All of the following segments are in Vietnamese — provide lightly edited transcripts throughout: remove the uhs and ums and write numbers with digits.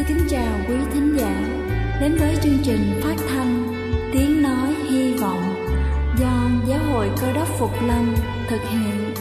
kính chào quý thính giả đến với chương trình phát thanh Tiếng Nói Hy Vọng do Giáo hội Cơ Đốc Phục Lâm thực hiện.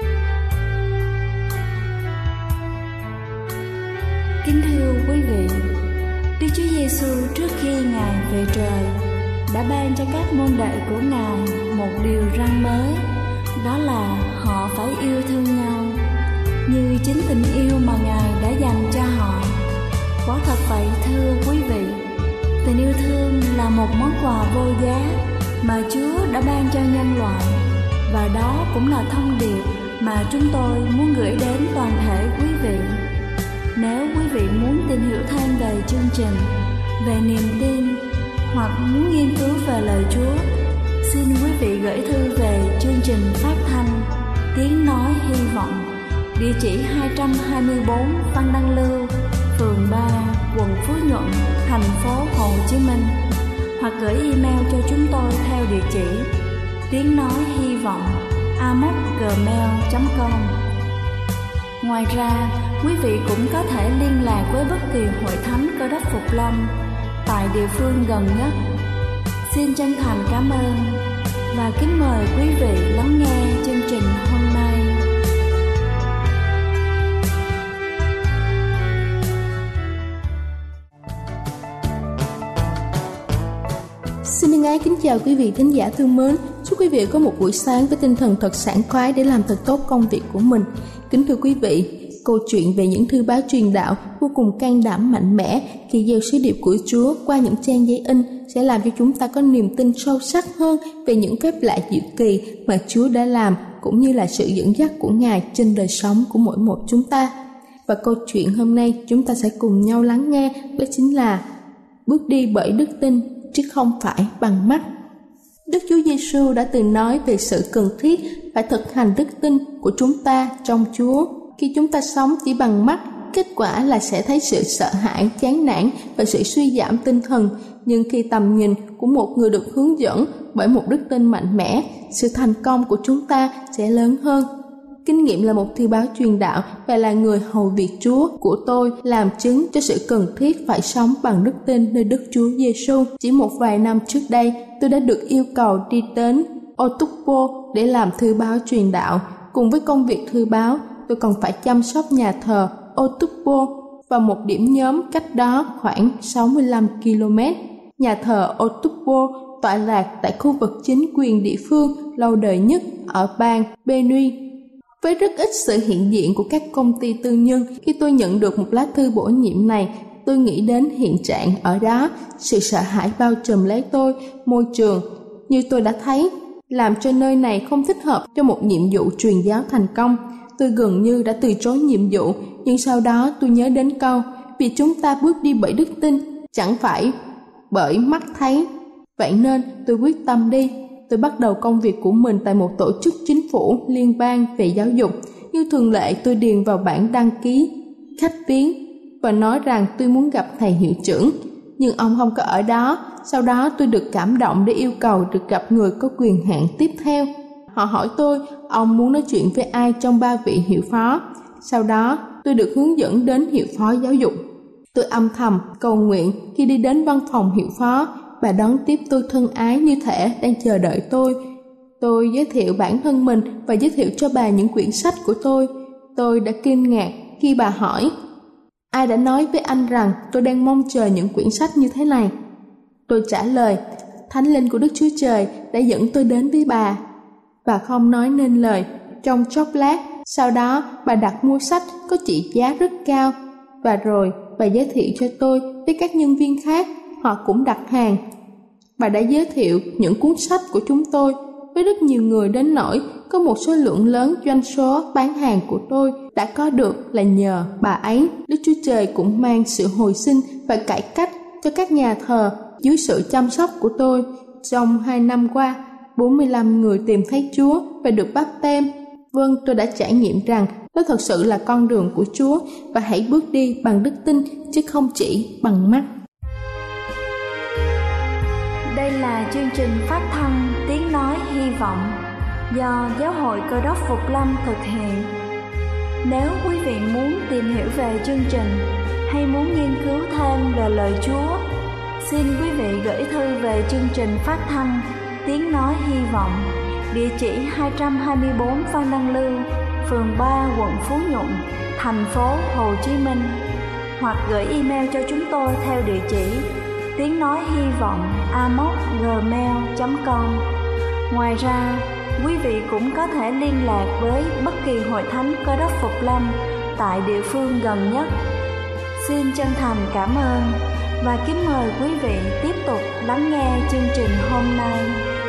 Kính thưa quý vị, Đức Chúa Giêsu trước khi Ngài về trời đã ban cho các môn đệ của Ngài một điều răn mới, đó là họ phải yêu thương nhau như chính tình yêu mà Ngài đã dành cho họ. Quả thật vậy thưa quý vị, tình yêu thương là một món quà vô giá mà Chúa đã ban cho nhân loại, và đó cũng là thông điệp mà chúng tôi muốn gửi đến toàn thể quý vị. Nếu quý vị muốn tìm hiểu thêm về chương trình, về niềm tin hoặc muốn nghiên cứu về lời Chúa, xin quý vị gửi thư về chương trình phát thanh Tiếng Nói Hy Vọng, địa chỉ 224 Văn Đăng Lưu, phường 3, quận Phú Nhuận, thành phố Hồ Chí Minh, hoặc gửi email cho chúng tôi theo địa chỉ tiếng nói hy vọng amos@gmail.com. Ngoài ra, quý vị cũng có thể liên lạc với bất kỳ hội thánh Cơ Đốc Phục Lâm tại địa phương gần nhất. Xin chân thành cảm ơn và kính mời quý vị lắng nghe chương trình hôm nay. Xin thân ái kính chào quý vị thính giả thương mến. Chúc quý vị có một buổi sáng với tinh thần thật sảng khoái để làm thật tốt công việc của mình. Kính thưa quý vị, câu chuyện về những thư báo truyền đạo vô cùng can đảm mạnh mẽ khi gieo sứ điệp của Chúa qua những trang giấy in sẽ làm cho chúng ta có niềm tin sâu sắc hơn về những phép lạ diệu kỳ mà Chúa đã làm, cũng như là sự dẫn dắt của Ngài trên đời sống của mỗi một chúng ta. Và câu chuyện hôm nay chúng ta sẽ cùng nhau lắng nghe, đó chính là bước đi bởi đức tin chứ không phải bằng mắt. Đức Chúa Giêsu đã từng nói về sự cần thiết phải thực hành đức tin của chúng ta trong Chúa. Khi chúng ta sống chỉ bằng mắt, kết quả là sẽ thấy sự sợ hãi, chán nản và sự suy giảm tinh thần. Nhưng khi tầm nhìn của một người được hướng dẫn bởi một đức tin mạnh mẽ, sự thành công của chúng ta sẽ lớn hơn. Kinh nghiệm là một thư báo truyền đạo và là người hầu việc Chúa của tôi làm chứng cho sự cần thiết phải sống bằng đức tin nơi Đức Chúa Giêsu. Chỉ một vài năm trước đây, tôi đã được yêu cầu đi đến Otukpo để làm thư báo truyền đạo. Cùng với công việc thư báo, tôi còn phải chăm sóc nhà thờ Otukpo và một điểm nhóm cách đó khoảng 65 km. Nhà thờ Otukpo tọa lạc tại khu vực chính quyền địa phương lâu đời nhất ở bang Benue. Với rất ít sự hiện diện của các công ty tư nhân, khi tôi nhận được một lá thư bổ nhiệm này, tôi nghĩ đến hiện trạng ở đó. Sự sợ hãi bao trùm lấy tôi, môi trường, như tôi đã thấy, làm cho nơi này không thích hợp cho một nhiệm vụ truyền giáo thành công. Tôi gần như đã từ chối nhiệm vụ, nhưng sau đó tôi nhớ đến câu, vì chúng ta bước đi bởi đức tin, chẳng phải bởi mắt thấy. Vậy nên tôi quyết tâm đi. Tôi bắt đầu công việc của mình tại một tổ chức chính phủ liên bang về giáo dục. Như thường lệ, tôi điền vào bảng đăng ký khách viếng và nói rằng tôi muốn gặp thầy hiệu trưởng, nhưng ông không có ở đó. Sau đó tôi được cảm động để yêu cầu được gặp người có quyền hạn tiếp theo. Họ hỏi tôi ông muốn nói chuyện với ai trong 3 vị hiệu phó. Sau đó tôi được hướng dẫn đến hiệu phó giáo dục. Tôi âm thầm cầu nguyện khi đi đến văn phòng hiệu phó. Bà đón tiếp tôi thân ái như thể đang chờ đợi tôi. Tôi giới thiệu bản thân mình và giới thiệu cho bà những quyển sách của tôi. Tôi đã kinh ngạc khi bà hỏi, ai đã nói với anh rằng tôi đang mong chờ những quyển sách như thế này? Tôi trả lời, Thánh Linh của Đức Chúa Trời đã dẫn tôi đến với bà. Bà không nói nên lời trong chốc lát. Sau đó bà đặt mua sách có trị giá rất cao. Và rồi bà giới thiệu cho tôi với các nhân viên khác. Họ cũng đặt hàng. Bà đã giới thiệu những cuốn sách của chúng tôi với rất nhiều người đến nỗi có một số lượng lớn doanh số bán hàng của tôi đã có được là nhờ bà ấy. Đức Chúa Trời cũng mang sự hồi sinh và cải cách cho các nhà thờ dưới sự chăm sóc của tôi. Trong 2 năm qua, 45 người tìm thấy Chúa và được báp têm. Vâng, tôi đã trải nghiệm rằng đó thật sự là con đường của Chúa, và hãy bước đi bằng đức tin chứ không chỉ bằng mắt. Đây là chương trình phát thanh Tiếng Nói Hy Vọng do Giáo hội Cơ Đốc Phục Lâm thực hiện. Nếu quý vị muốn tìm hiểu về chương trình hay muốn nghiên cứu thêm về lời Chúa, xin quý vị gửi thư về chương trình phát thanh Tiếng Nói Hy Vọng, địa chỉ 224 Phan Đăng Lưu, phường 3, quận Phú Nhuận, thành phố Hồ Chí Minh, hoặc gửi email cho chúng tôi theo địa chỉ tiếng nói hy vọng amos@gmail.com. Ngoài ra, quý vị cũng có thể liên lạc với bất kỳ hội thánh Cơ Đốc Phục Lâm tại địa phương gần nhất. Xin chân thành cảm ơn và kính mời quý vị tiếp tục lắng nghe chương trình hôm nay.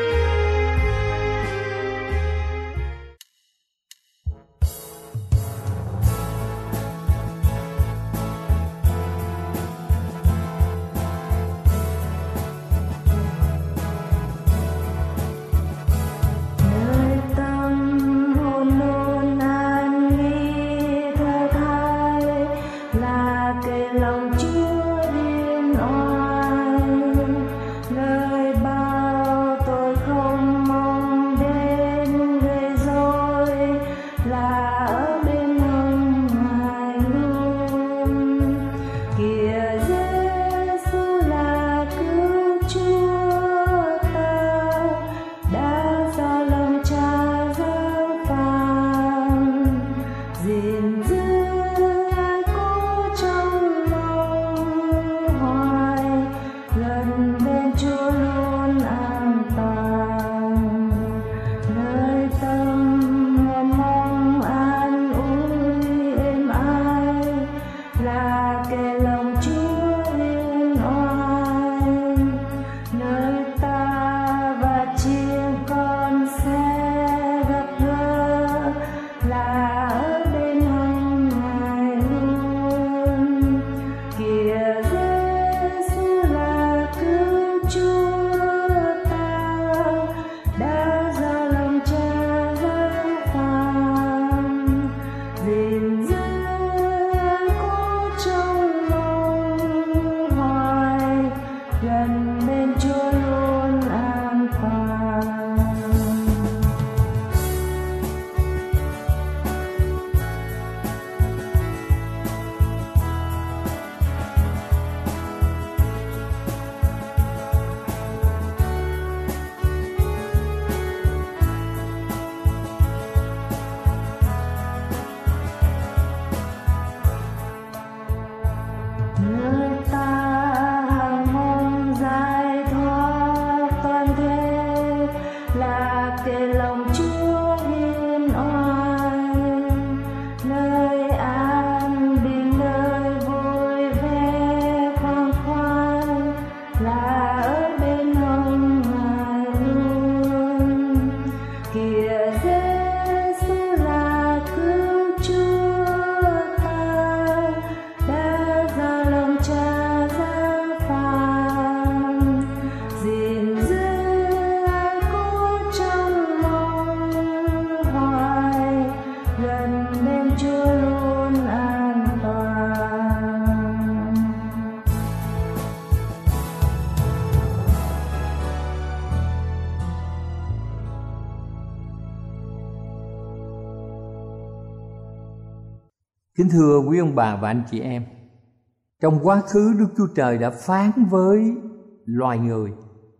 Kính thưa quý ông bà và anh chị em, trong quá khứ Đức Chúa Trời đã phán với loài người,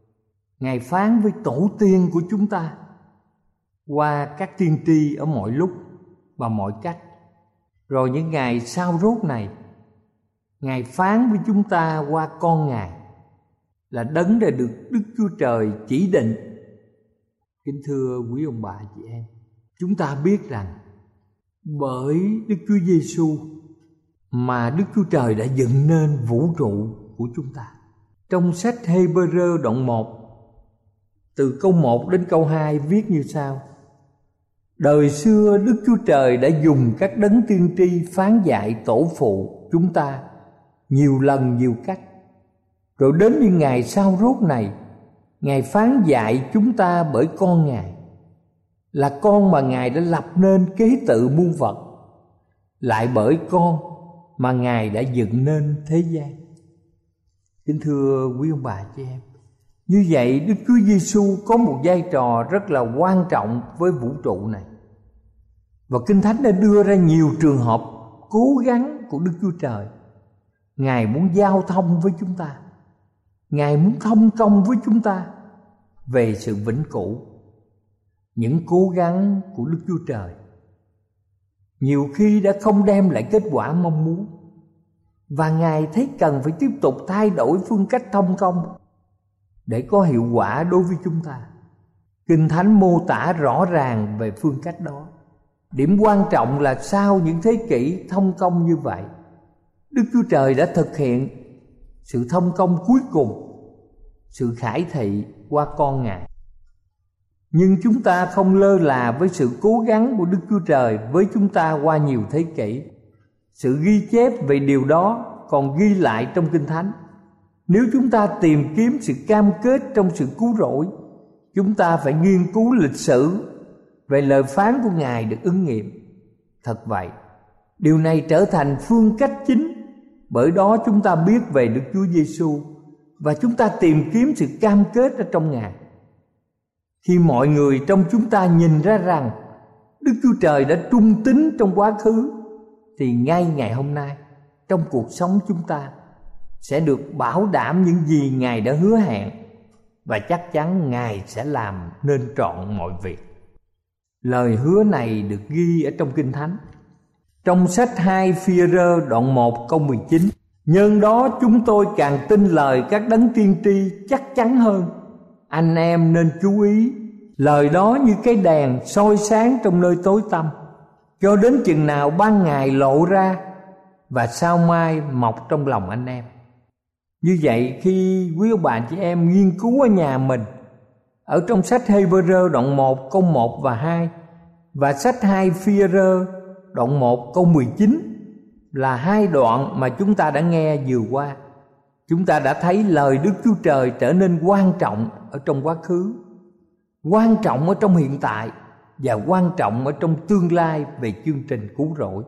Ngài phán với tổ tiên của chúng ta qua các tiên tri ở mọi lúc và mọi cách. Rồi những ngày sau rốt này, Ngài phán với chúng ta qua con Ngài là đấng đã được Đức Chúa Trời chỉ định. Kính thưa quý ông bà chị em, chúng ta biết rằng bởi Đức Chúa Giêsu mà Đức Chúa Trời đã dựng nên vũ trụ của chúng ta. Trong sách Hê-bơ-rơ đoạn 1, từ câu 1 đến câu 2 viết như sau: Đời xưa Đức Chúa Trời đã dùng các đấng tiên tri phán dạy tổ phụ chúng ta nhiều lần nhiều cách. Rồi đến những ngày sau rốt này, Ngài phán dạy chúng ta bởi con Ngài, là con mà Ngài đã lập nên kế tự muôn vật, lại bởi con mà Ngài đã dựng nên thế gian. Kính thưa quý ông bà chị em, như vậy Đức Chúa Giêsu có một vai trò rất là quan trọng với vũ trụ này. Và Kinh Thánh đã đưa ra nhiều trường hợp cố gắng của Đức Chúa Trời Ngài muốn giao thông với chúng ta. Ngài muốn thông công với chúng ta về sự vĩnh cửu. Những cố gắng của Đức Chúa Trời nhiều khi đã không đem lại kết quả mong muốn, và Ngài thấy cần phải tiếp tục thay đổi phương cách thông công để có hiệu quả đối với chúng ta. Kinh Thánh mô tả rõ ràng về phương cách đó. Điểm quan trọng là sau những thế kỷ thông công như vậy, Đức Chúa Trời đã thực hiện sự thông công cuối cùng, sự khải thị qua con Ngài. Nhưng chúng ta không lơ là với sự cố gắng của Đức Chúa Trời với chúng ta qua nhiều thế kỷ. Sự ghi chép về điều đó còn ghi lại trong Kinh Thánh. Nếu chúng ta tìm kiếm sự cam kết trong sự cứu rỗi, chúng ta phải nghiên cứu lịch sử về lời phán của Ngài được ứng nghiệm. Thật vậy, điều này trở thành phương cách chính, bởi đó chúng ta biết về Đức Chúa Giêsu và chúng ta tìm kiếm sự cam kết ở trong Ngài. Khi mọi người trong chúng ta nhìn ra rằng Đức Chúa Trời đã trung tín trong quá khứ, thì ngay ngày hôm nay trong cuộc sống chúng ta sẽ được bảo đảm những gì Ngài đã hứa hẹn, và chắc chắn Ngài sẽ làm nên trọn mọi việc. Lời hứa này được ghi ở trong Kinh Thánh. Trong sách 2 Phi-e-rơ đoạn 1 câu 19: Nhân đó chúng tôi càng tin lời các đấng tiên tri chắc chắn hơn. Anh em nên chú ý, lời đó như cái đèn soi sáng trong nơi tối tăm, cho đến chừng nào ban ngày lộ ra và sao mai mọc trong lòng anh em. Như vậy, khi quý ông bà chị em nghiên cứu ở nhà mình, ở trong sách Hê-bơ-rơ đoạn 1 câu 1 và 2 và sách 2 Phi-e-rơ đoạn 1 câu 19 là hai đoạn mà chúng ta đã nghe vừa qua, chúng ta đã thấy lời Đức Chúa Trời trở nên quan trọng ở trong quá khứ, quan trọng ở trong hiện tại và quan trọng ở trong tương lai về chương trình cứu rỗi.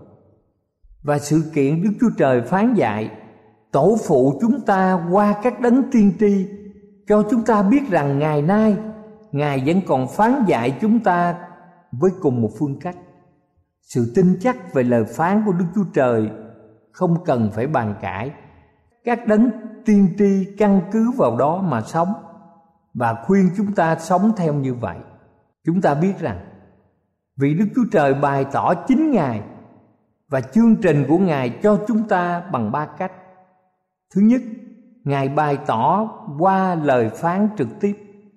Và sự kiện Đức Chúa Trời phán dạy tổ phụ chúng ta qua các đấng tiên tri cho chúng ta biết rằng ngày nay Ngài vẫn còn phán dạy chúng ta với cùng một phương cách. Sự tin chắc về lời phán của Đức Chúa Trời không cần phải bàn cãi. Các đấng tiên tri căn cứ vào đó mà sống và khuyên chúng ta sống theo như vậy. Chúng ta biết rằng vì Đức Chúa Trời bày tỏ chính Ngài và chương trình của Ngài cho chúng ta bằng ba cách. Thứ nhất, Ngài bày tỏ qua lời phán trực tiếp.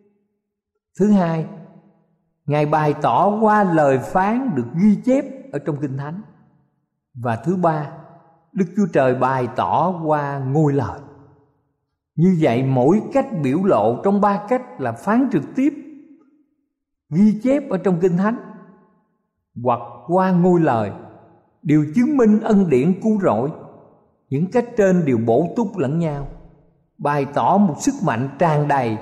Thứ hai, Ngài bày tỏ qua lời phán được ghi chép ở trong Kinh Thánh. Và thứ ba, Đức Chúa Trời bày tỏ qua ngôi lời. Như vậy, mỗi cách biểu lộ trong ba cách là phán trực tiếp, ghi chép ở trong Kinh Thánh, hoặc qua ngôi lời, đều chứng minh ân điển cứu rỗi. Những cách trên đều bổ túc lẫn nhau, bày tỏ một sức mạnh tràn đầy.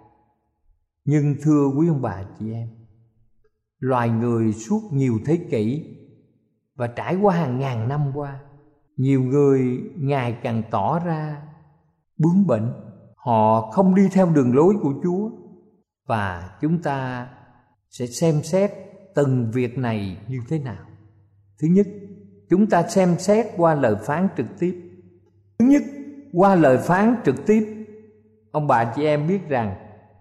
Nhưng thưa quý ông bà chị em, loài người suốt nhiều thế kỷ và trải qua hàng ngàn năm qua, nhiều người ngày càng tỏ ra bướng bỉnh. Họ không đi theo đường lối của Chúa. Và chúng ta sẽ xem xét từng việc này như thế nào. Thứ nhất, chúng ta xem xét qua lời phán trực tiếp. Thứ nhất, qua lời phán trực tiếp, ông bà chị em biết rằng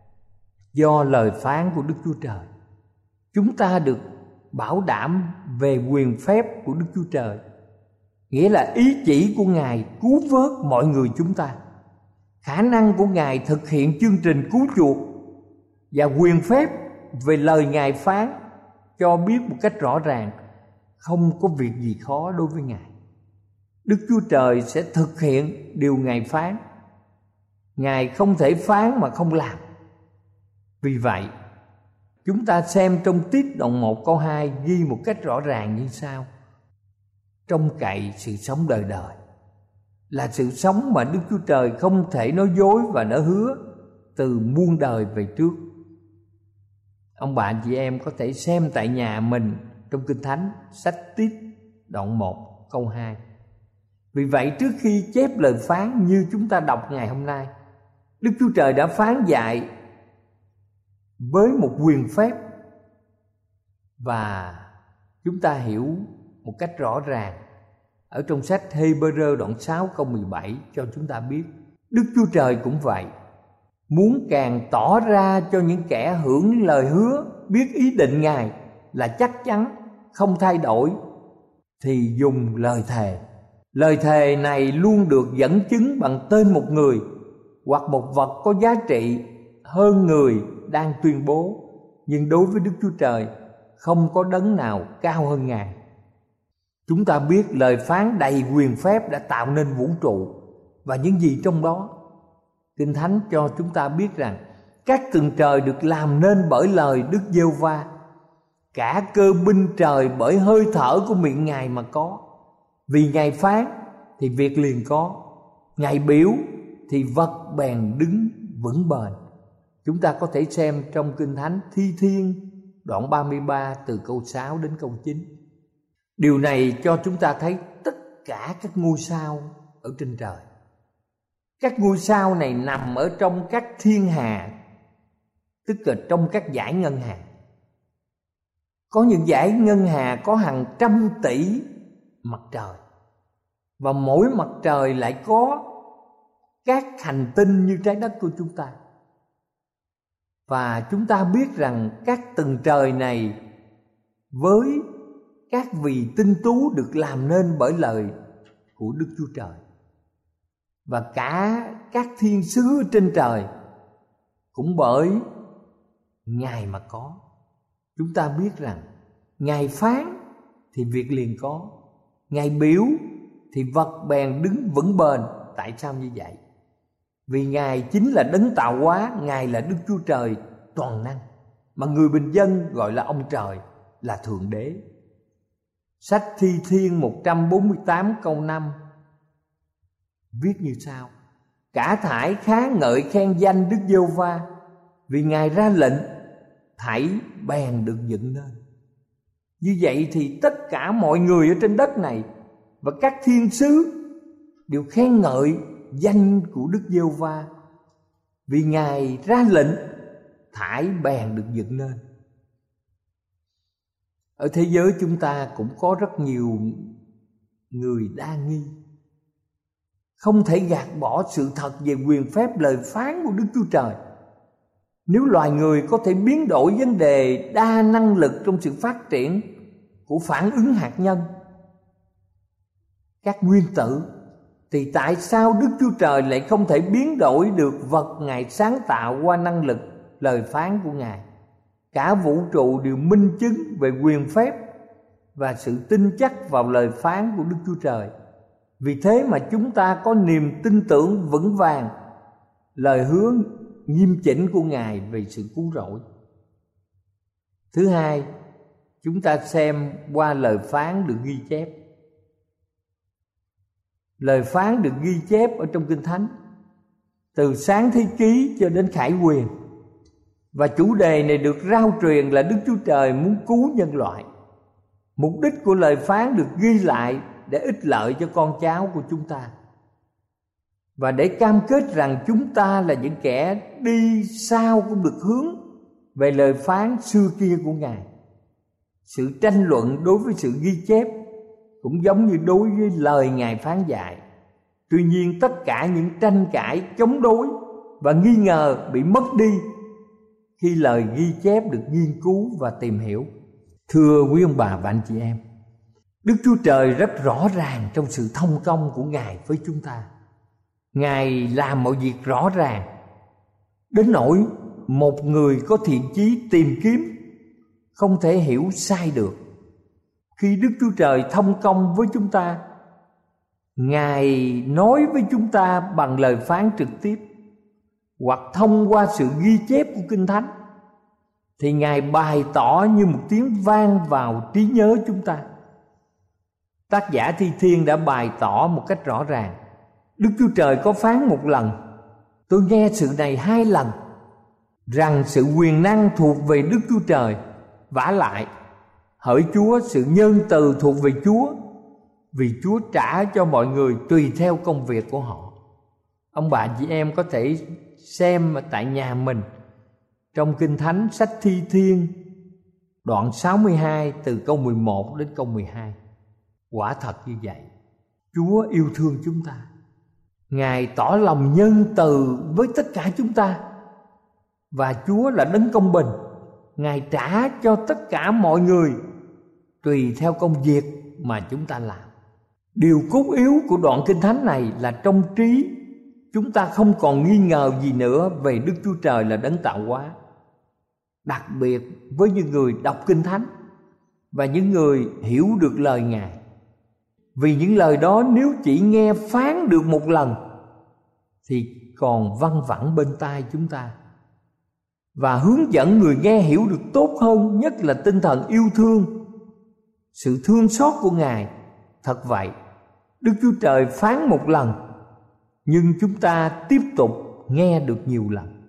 do lời phán của Đức Chúa Trời, chúng ta được bảo đảm về quyền phép của Đức Chúa Trời, nghĩa là ý chỉ của Ngài cứu vớt mọi người chúng ta, khả năng của Ngài thực hiện chương trình cứu chuộc, và quyền phép về lời Ngài phán cho biết một cách rõ ràng không có việc gì khó đối với Ngài. Đức Chúa Trời sẽ thực hiện điều Ngài phán. Ngài không thể phán mà không làm. Vì vậy, chúng ta xem trong Tít đoạn 1 câu 2 ghi một cách rõ ràng như sau: trông cậy sự sống đời đời là sự sống mà Đức Chúa Trời không thể nói dối và đã hứa từ muôn đời về trước. Ông bạn chị em có thể xem tại nhà mình trong Kinh Thánh, sách Tít đoạn 1 câu 2. Vì vậy, trước khi chép lời phán như chúng ta đọc ngày hôm nay, Đức Chúa Trời đã phán dạy với một quyền phép, và chúng ta hiểu một cách rõ ràng ở trong sách Hê-bơ-rơ đoạn 6 câu 17 cho chúng ta biết Đức Chúa Trời cũng vậy, muốn càng tỏ ra cho những kẻ hưởng lời hứa biết ý định Ngài là chắc chắn, không thay đổi, thì dùng lời thề. Lời thề này luôn được dẫn chứng bằng tên một người hoặc một vật có giá trị hơn người đang tuyên bố. Nhưng đối với Đức Chúa Trời, không có đấng nào cao hơn Ngài. Chúng ta biết lời phán đầy quyền phép đã tạo nên vũ trụ và những gì trong đó. Kinh Thánh cho chúng ta biết rằng các tầng trời được làm nên bởi lời Đức Giê-hô-va, cả cơ binh trời bởi hơi thở của miệng Ngài mà có. Vì Ngài phán thì việc liền có, Ngài biểu thì vật bèn đứng vững bền. Chúng ta có thể xem trong Kinh Thánh Thi Thiên đoạn 33 từ câu 6 đến câu 9. Điều này cho chúng ta thấy tất cả các ngôi sao ở trên trời. Các ngôi sao này nằm ở trong các thiên hà, tức là trong các dải ngân hà. Có những dải ngân hà có hàng trăm tỷ mặt trời, và mỗi mặt trời lại có các hành tinh như trái đất của chúng ta. Và chúng ta biết rằng các tầng trời này với các vì tinh tú được làm nên bởi lời của Đức Chúa Trời. Và cả các thiên sứ trên trời cũng bởi Ngài mà có. Chúng ta biết rằng Ngài phán thì việc liền có, Ngài biểu thì vật bèn đứng vững bền. Tại sao như vậy? Vì Ngài chính là đấng tạo hóa, Ngài là Đức Chúa Trời toàn năng, mà người bình dân gọi là ông trời, là Thượng Đế. Sách Thi Thiên 148 câu 5 viết như sau: cả thảy khá ngợi khen danh Đức Giê-hô-va, vì Ngài ra lệnh thảy bèn được dựng nên. Như vậy thì tất cả mọi người ở trên đất này và các thiên sứ đều khen ngợi danh của Đức Giê-hô-va, vì Ngài ra lệnh thảy bèn được dựng nên. Ở thế giới chúng ta cũng có rất nhiều người đa nghi, không thể gạt bỏ sự thật về quyền phép lời phán của Đức Chúa Trời. Nếu loài người có thể biến đổi vấn đề đa năng lực trong sự phát triển của phản ứng hạt nhân, các nguyên tử, thì tại sao Đức Chúa Trời lại không thể biến đổi được vật Ngài sáng tạo qua năng lực lời phán của Ngài? Cả vũ trụ đều minh chứng về quyền phép và sự tin chắc vào lời phán của Đức Chúa Trời. Vì thế mà chúng ta có niềm tin tưởng vững vàng lời hứa nghiêm chỉnh của Ngài về sự cứu rỗi. Thứ hai, chúng ta xem qua lời phán được ghi chép. Lời phán được ghi chép ở trong Kinh Thánh từ Sáng Thế Ký cho đến Khải Huyền, và chủ đề này được rao truyền là Đức Chúa Trời muốn cứu nhân loại. Mục đích của lời phán được ghi lại để ích lợi cho con cháu của chúng ta, và để cam kết rằng chúng ta là những kẻ đi sau cũng được hướng về lời phán xưa kia của Ngài. Sự tranh luận đối với sự ghi chép cũng giống như đối với lời Ngài phán dạy. Tuy nhiên tất cả những tranh cãi, chống đối và nghi ngờ bị mất đi khi lời ghi chép được nghiên cứu và tìm hiểu. Thưa quý ông bà và anh chị em, Đức Chúa Trời rất rõ ràng trong sự thông công của Ngài với chúng ta. Ngài làm mọi việc rõ ràng đến nỗi một người có thiện chí tìm kiếm không thể hiểu sai được. Khi Đức Chúa Trời thông công với chúng ta, Ngài nói với chúng ta bằng lời phán trực tiếp hoặc thông qua sự ghi chép của Kinh Thánh, thì Ngài bày tỏ như một tiếng vang vào trí nhớ chúng ta. Tác giả Thi Thiên đã bày tỏ một cách rõ ràng: Đức Chúa Trời có phán một lần, tôi nghe sự này 2 lần, rằng sự quyền năng thuộc về Đức Chúa Trời. Vả lại, hỡi Chúa, sự nhân từ thuộc về Chúa, vì Chúa trả cho mọi người tùy theo công việc của họ. Ông bà chị em có thể xem tại nhà mình trong Kinh Thánh sách Thi Thiên đoạn 62 từ câu 11 đến câu 12. Quả thật như vậy, Chúa yêu thương chúng ta. Ngài tỏ lòng nhân từ với tất cả chúng ta. Và Chúa là đấng công bình. Ngài trả cho tất cả mọi người tùy theo công việc mà chúng ta làm. Điều cốt yếu của đoạn Kinh Thánh này là trong trí chúng ta không còn nghi ngờ gì nữa về Đức Chúa Trời là đấng tạo hóa. Đặc biệt với những người đọc Kinh Thánh và những người hiểu được lời Ngài. Vì những lời đó nếu chỉ nghe phán được một lần thì còn văng vẳng bên tai chúng ta, và hướng dẫn người nghe hiểu được tốt hơn, nhất là tinh thần yêu thương, sự thương xót của Ngài. Thật vậy, Đức Chúa Trời phán một lần, nhưng chúng ta tiếp tục nghe được nhiều lần.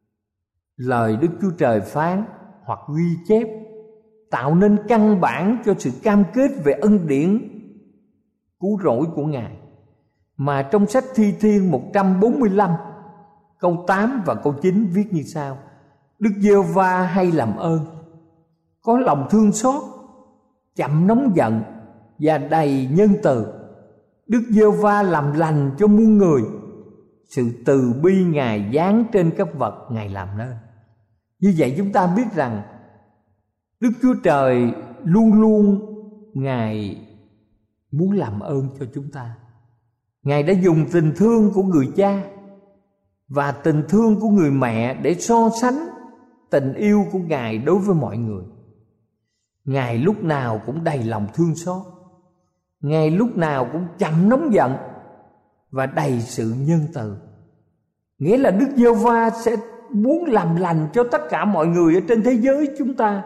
Lời Đức Chúa Trời phán hoặc ghi chép tạo nên căn bản cho sự cam kết về ân điển cứu rỗi của Ngài, mà trong sách Thi Thiên 145 câu 8 và câu 9 viết như sau: Đức Giê-hô-va hay làm ơn, có lòng thương xót, chậm nóng giận và đầy nhân từ. Đức Giê-hô-va làm lành cho muôn người, sự từ bi Ngài dán trên các vật Ngài làm nên. Như vậy chúng ta biết rằng Đức Chúa Trời luôn luôn Ngài muốn làm ơn cho chúng ta. Ngài đã dùng tình thương của người cha và tình thương của người mẹ để so sánh tình yêu của Ngài đối với mọi người. Ngài lúc nào cũng đầy lòng thương xót, Ngài lúc nào cũng chậm nóng giận và đầy sự nhân từ. Nghĩa là Đức Giê-hô-va sẽ muốn làm lành cho tất cả mọi người ở trên thế giới chúng ta.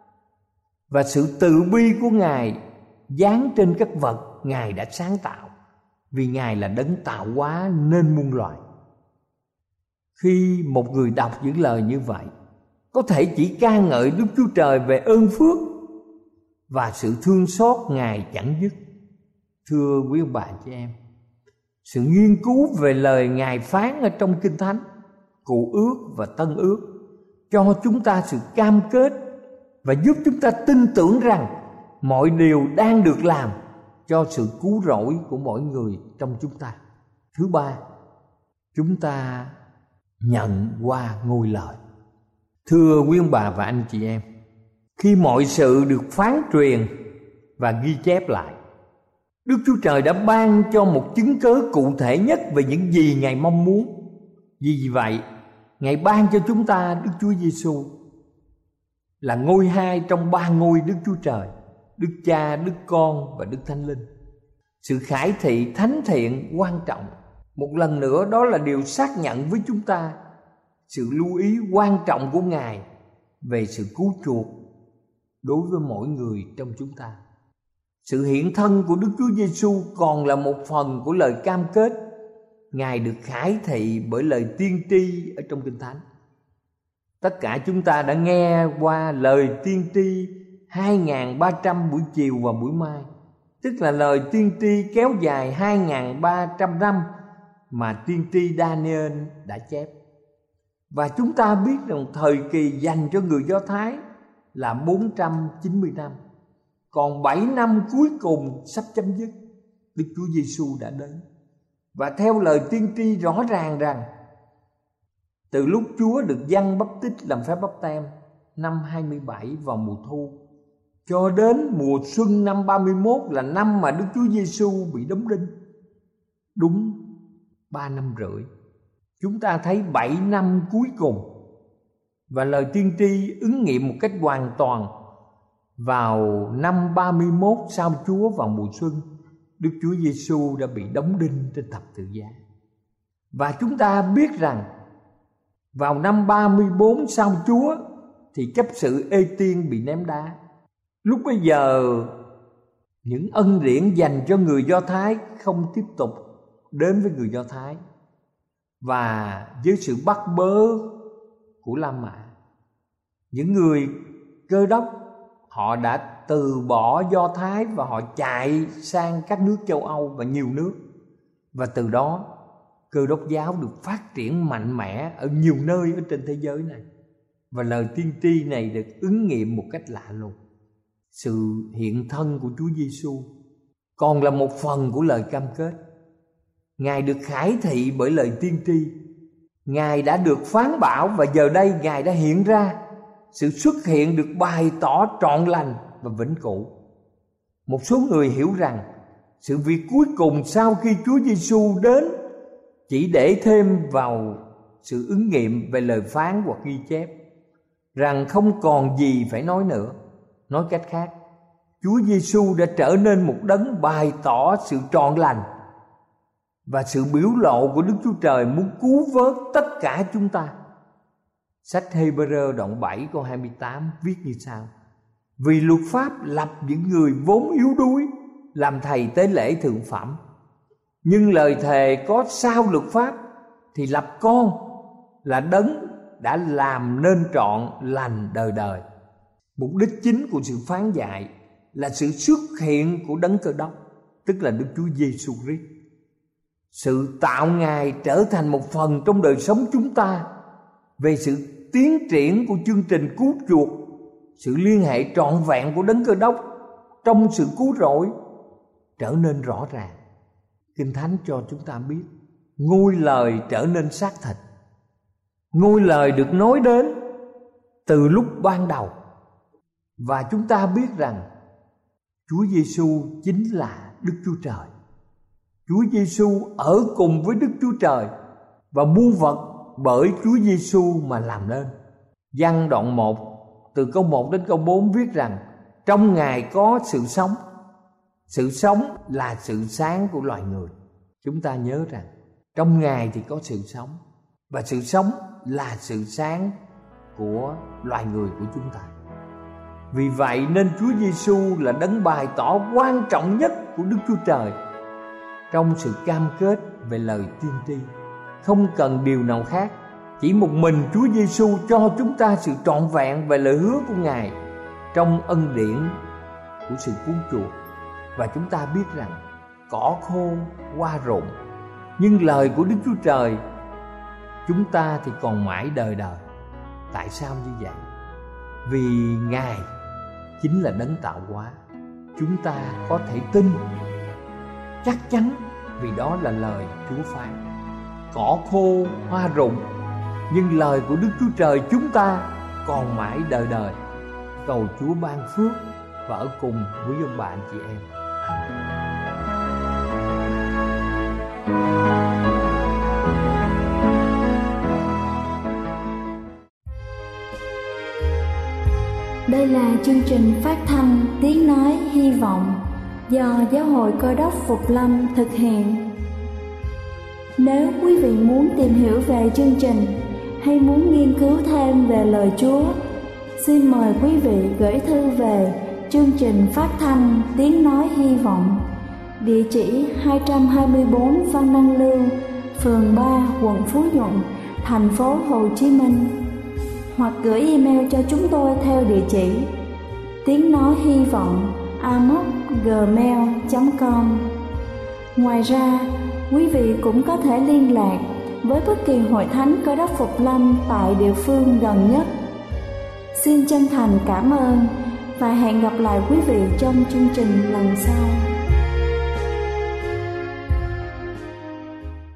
Và sự từ bi của Ngài dán trên các vật Ngài đã sáng tạo, vì Ngài là đấng tạo hóa nên muôn loài. Khi một người đọc những lời như vậy, có thể chỉ ca ngợi Đức Chúa Trời về ơn phước và sự thương xót Ngài chẳng dứt. Thưa quý ông bà chị em, sự nghiên cứu về lời Ngài phán ở trong Kinh Thánh, Cựu Ước và Tân Ước cho chúng ta sự cam kết và giúp chúng ta tin tưởng rằng mọi điều đang được làm cho sự cứu rỗi của mỗi người trong chúng ta. Thứ ba, chúng ta nhận qua ngôi lời. Thưa quý ông bà và anh chị em, khi mọi sự được phán truyền và ghi chép lại, Đức Chúa Trời đã ban cho một chứng cớ cụ thể nhất về những gì Ngài mong muốn. Vì vậy, Ngài ban cho chúng ta Đức Chúa Giêsu là ngôi hai trong ba ngôi Đức Chúa Trời: Đức Cha, Đức Con và Đức Thánh Linh. Sự khải thị thánh thiện quan trọng một lần nữa, đó là điều xác nhận với chúng ta sự lưu ý quan trọng của Ngài về sự cứu chuộc đối với mỗi người trong chúng ta. Sự hiện thân của Đức Chúa Giêsu còn là một phần của lời cam kết Ngài được khải thị bởi lời tiên tri ở trong Kinh Thánh. Tất cả chúng ta đã nghe qua lời tiên tri 2.300 buổi chiều và buổi mai, tức là lời tiên tri kéo dài 2.300 năm mà tiên tri Daniel đã chép. Và chúng ta biết rằng thời kỳ dành cho người Do Thái là 490 năm, còn 7 năm cuối cùng sắp chấm dứt, Đức Chúa Giêsu đã đến. Và theo lời tiên tri rõ ràng rằng từ lúc Chúa được Giăng Báp Tít làm phép báp têm năm 27 vào mùa thu, cho đến mùa xuân năm 31 là năm mà Đức Chúa Giêsu bị đóng đinh, đúng 3 năm rưỡi. Chúng ta thấy 7 năm cuối cùng, và lời tiên tri ứng nghiệm một cách hoàn toàn. Vào năm 31 sau Chúa vào mùa xuân, Đức Chúa Giêsu đã bị đóng đinh trên thập tự giá. Và chúng ta biết rằng vào năm 34 sau Chúa thì chấp sự Ê Tiên bị ném đá. Lúc bấy giờ những ân điển dành cho người Do Thái không tiếp tục đến với người Do Thái, và với sự bắt bớ của La Mã, những người Cơ Đốc họ đã từ bỏ Do Thái và họ chạy sang các nước châu Âu và nhiều nước. Và từ đó Cơ Đốc giáo được phát triển mạnh mẽ ở nhiều nơi ở trên thế giới này. Và lời tiên tri này được ứng nghiệm một cách lạ lùng. Sự hiện thân của Chúa Giêsu còn là một phần của lời cam kết. Ngài được khải thị bởi lời tiên tri. Ngài đã được phán bảo và giờ đây Ngài đã hiện ra. Sự xuất hiện được bày tỏ trọn lành và vĩnh cửu. Một số người hiểu rằng sự việc cuối cùng sau khi Chúa Giêsu đến chỉ để thêm vào sự ứng nghiệm về lời phán hoặc ghi chép, rằng không còn gì phải nói nữa. Nói cách khác, Chúa Giêsu đã trở nên một đấng bày tỏ sự trọn lành và sự biểu lộ của Đức Chúa Trời muốn cứu vớt tất cả chúng ta. Sách Hê-bơ-rơ đoạn 7 câu 28 viết như sau: Vì luật pháp lập những người vốn yếu đuối làm thầy tế lễ thượng phẩm, nhưng lời thề có sau luật pháp thì lập con là đấng đã làm nên trọn lành đời đời. Mục đích chính của sự phán dạy là sự xuất hiện của đấng Cơ Đốc, tức là Đức Chúa Giêsu Christ. Sự tạo Ngài trở thành một phần trong đời sống chúng ta về sự tiến triển của chương trình cứu chuộc, sự liên hệ trọn vẹn của đấng Cơ Đốc trong sự cứu rỗi trở nên rõ ràng. Kinh Thánh cho chúng ta biết ngôi lời trở nên xác thịt. Ngôi lời được nói đến từ lúc ban đầu, và chúng ta biết rằng Chúa Giêsu chính là Đức Chúa Trời. Chúa Giêsu ở cùng với Đức Chúa Trời và muôn vật bởi Chúa Giêsu mà làm nên. Giăng đoạn 1 từ câu 1 đến câu 4 viết rằng trong Ngài có sự sống. Sự sống là sự sáng của loài người. Chúng ta nhớ rằng trong Ngài thì có sự sống, và sự sống là sự sáng của loài người của chúng ta. Vì vậy nên Chúa Giêsu là đấng bày tỏ quan trọng nhất của Đức Chúa Trời trong sự cam kết về lời tiên tri. Không cần điều nào khác, chỉ một mình Chúa Giêsu cho chúng ta sự trọn vẹn về lời hứa của Ngài trong ân điển của sự cứu chuộc. Và chúng ta biết rằng cỏ khô hoa rụng, nhưng lời của Đức Chúa Trời chúng ta thì còn mãi đời đời. Tại sao như vậy? Vì Ngài chính là đấng tạo hóa. Chúng ta có thể tin chắc chắn vì đó là lời Chúa phán. Cỏ khô hoa rụng, nhưng lời của Đức Chúa Trời chúng ta còn mãi đời đời. Cầu Chúa ban phước và ở cùng với ông bà anh chị em. Đây là chương trình phát thanh Tiếng Nói Hy Vọng do Giáo hội Cơ Đốc Phục Lâm thực hiện. Nếu quý vị muốn tìm hiểu về chương trình hay muốn nghiên cứu thêm về lời Chúa, xin mời quý vị gửi thư về chương trình phát thanh Tiếng Nói Hy Vọng, địa chỉ 224 Văn Đăng Lưu, phường 3, quận Phú Nhuận, thành phố Hồ Chí Minh, hoặc gửi email cho chúng tôi theo địa chỉ tiếng nói hy vọng amos@gmail.com. Ngoài ra, quý vị cũng có thể liên lạc với bất kỳ hội thánh Cơ Đốc Phục Lâm tại địa phương gần nhất. Xin chân thành cảm ơn và hẹn gặp lại quý vị trong chương trình lần sau.